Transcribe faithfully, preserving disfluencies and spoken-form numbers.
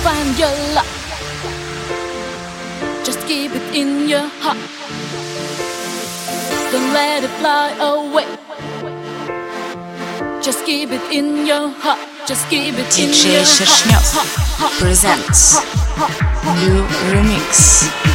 find your love. Just keep it in your heart. Don't let it fly away. Just keep it in your heart. Just keep it in ди джей your Шершнев heart. presents new remix.